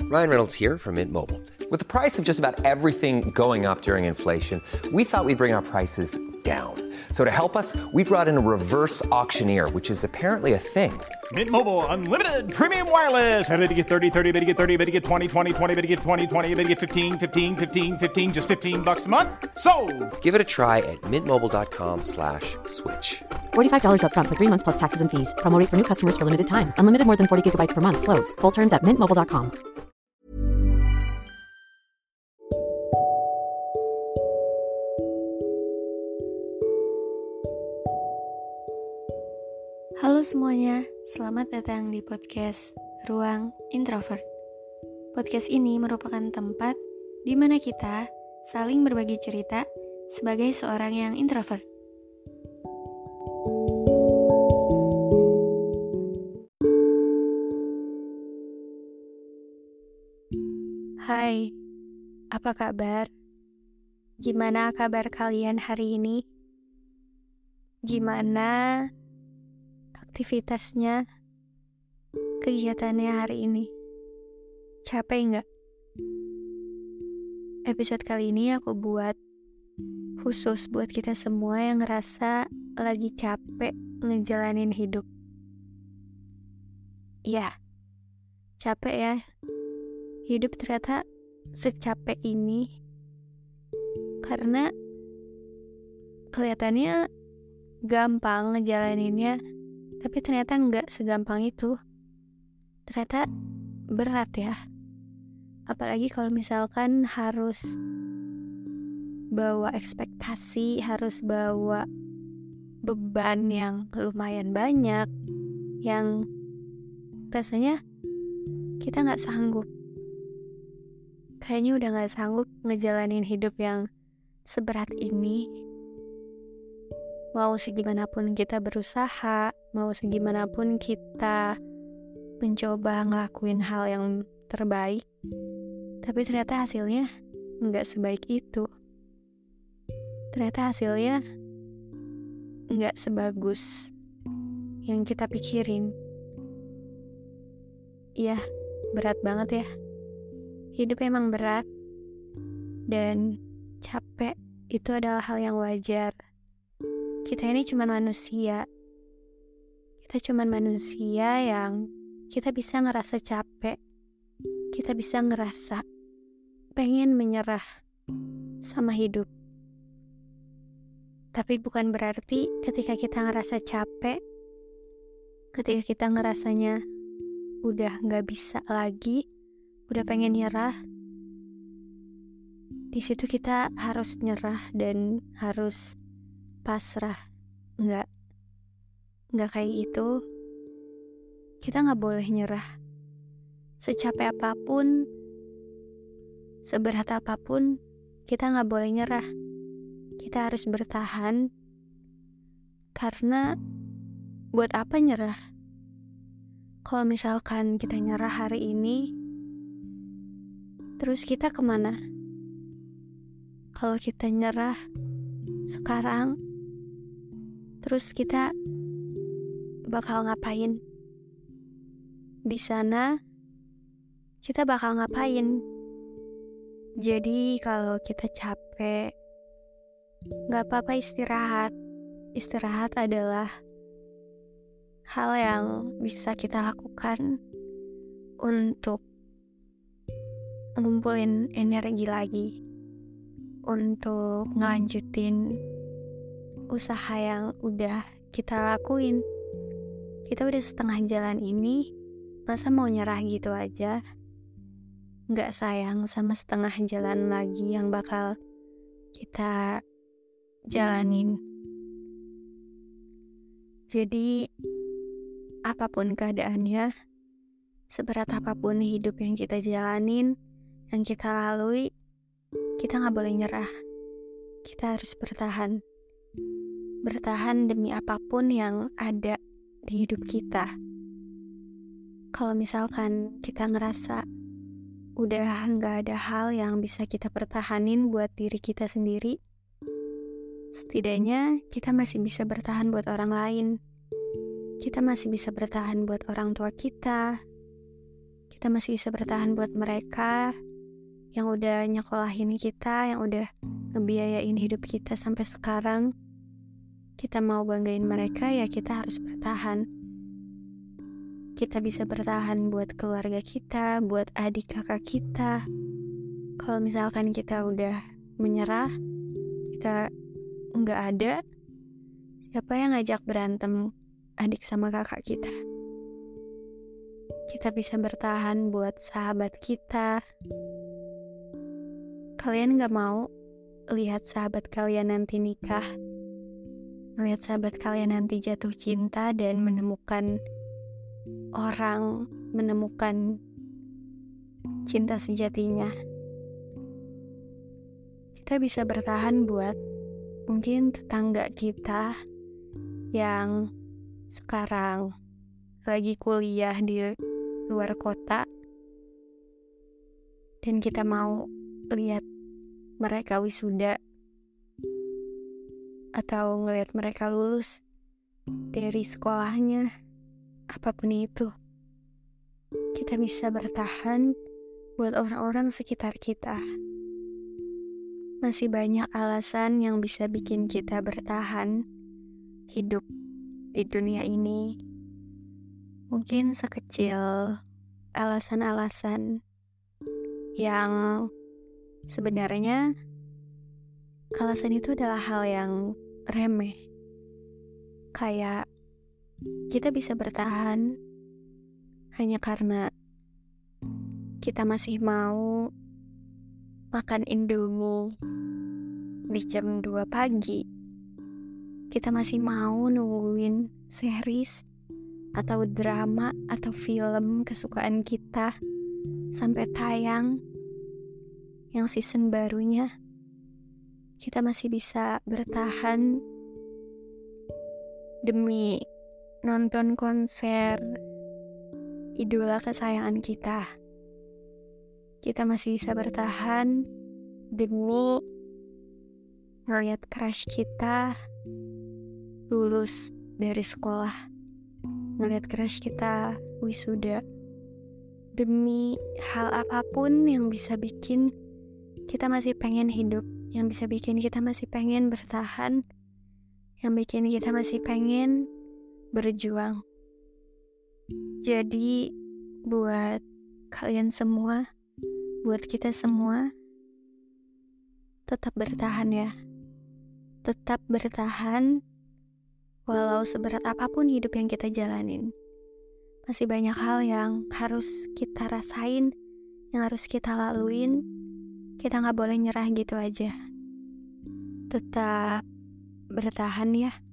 Ryan Reynolds here from Mint Mobile. With the price of just about everything going up during inflation, we thought we'd bring our prices down. So to help us, we brought in a reverse auctioneer, which is apparently a thing. Mint Mobile Unlimited Premium Wireless. How to get 30, 30, bit to get 30, bit to get 20, 20, 20, bit to get 20, 20, bit to get 15, 15, 15, 15, just $15 a month? Sold! Give it a try at mintmobile.com/switch. $45 up front for 3 months plus taxes and fees. Promo rate for new customers for limited time. Unlimited more than 40 gigabytes per month. Slows full terms at mintmobile.com. Halo semuanya, selamat datang di podcast Ruang Introvert. Podcast ini merupakan tempat di mana kita saling berbagi cerita sebagai seorang yang introvert. Hai, apa kabar? Gimana kabar kalian hari ini? Gimana aktivitasnya, kegiatannya hari ini? Capek nggak? Episode kali ini aku buat khusus buat kita semua yang ngerasa lagi capek ngejalanin hidup. Ya, capek ya. Hidup ternyata secapek ini karena kelihatannya gampang ngejalaninnya, tapi ternyata nggak segampang itu. Ternyata berat ya. Apalagi kalau misalkan harus bawa ekspektasi, harus bawa beban yang lumayan banyak, yang rasanya kita nggak sanggup. Kayaknya udah gak sanggup ngejalanin hidup yang seberat ini. Mau segimanapun kita berusaha, mau segimanapun kita mencoba ngelakuin hal yang terbaik, tapi ternyata hasilnya gak sebaik itu. Ternyata hasilnya gak sebagus yang kita pikirin. Iya, berat banget ya. Hidup emang berat, dan capek itu adalah hal yang wajar. Kita ini cuma manusia. Kita cuma manusia yang kita bisa ngerasa capek. Kita bisa ngerasa pengen menyerah sama hidup. Tapi bukan berarti ketika kita ngerasa capek, ketika kita ngerasanya udah gak bisa lagi, udah pengen nyerah, di situ kita harus nyerah dan harus pasrah. Nggak kayak gitu. Kita nggak boleh nyerah. Secapek apapun, seberat apapun, kita nggak boleh nyerah. Kita harus bertahan. Karena buat apa nyerah? Kalau misalkan kita nyerah hari ini, terus kita kemana? Kalau kita nyerah sekarang, terus kita bakal ngapain? Di sana kita bakal ngapain? Jadi kalau kita capek, gak apa-apa istirahat. Istirahat adalah hal yang bisa kita lakukan untuk ngumpulin energi lagi, untuk ngelanjutin usaha yang udah kita lakuin. Kita udah setengah jalan ini, masa mau nyerah gitu aja? Gak sayang sama setengah jalan lagi yang bakal kita jalanin. Jadi apapun keadaannya, seberat apapun hidup yang kita jalanin, yang kita lalui, kita gak boleh nyerah. Kita harus bertahan. Bertahan demi apapun yang ada di hidup kita. Kalau misalkan kita ngerasa udah gak ada hal yang bisa kita pertahanin buat diri kita sendiri, setidaknya kita masih bisa bertahan buat orang lain. Kita masih bisa bertahan buat orang tua kita. Kita masih bisa bertahan buat mereka yang udah nyekolahin kita, yang udah ngebiayain hidup kita sampai sekarang. Kita mau banggain mereka, ya kita harus bertahan. Kita bisa bertahan buat keluarga kita, buat adik kakak kita. Kalau misalkan kita udah menyerah, kita nggak ada, siapa yang ngajak berantem adik sama kakak kita? Kita bisa bertahan buat sahabat kita. Kalian gak mau lihat sahabat kalian nanti nikah, lihat sahabat kalian nanti jatuh cinta dan menemukan cinta sejatinya. Kita bisa bertahan buat mungkin tetangga kita yang sekarang lagi kuliah di luar kota, dan kita mau lihat mereka wisuda atau ngelihat mereka lulus dari sekolahnya, apapun itu. Kita bisa bertahan buat orang-orang sekitar kita. Masih banyak alasan yang bisa bikin kita bertahan hidup di dunia ini. Mungkin sekecil alasan-alasan yang sebenarnya alasan itu adalah hal yang remeh. Kayak kita bisa bertahan hanya karena kita masih mau makan Indomie di jam 2 pagi. Kita masih mau nungguin series atau drama atau film kesukaan kita sampai tayang yang season barunya. Kita masih bisa bertahan demi nonton konser idola kesayangan kita. Kita masih bisa bertahan demi ngeliat crush kita lulus dari sekolah, ngeliat crush kita wisuda. Demi hal apapun yang bisa bikin kita masih pengen hidup, yang bisa bikin kita masih pengen bertahan, yang bikin kita masih pengen berjuang. Jadi buat kalian semua, buat kita semua, tetap bertahan ya. Tetap bertahan walau seberat apapun hidup yang kita jalanin. Masih banyak hal yang harus kita rasain, yang harus kita laluin. Kita gak boleh nyerah gitu aja. Tetap bertahan ya.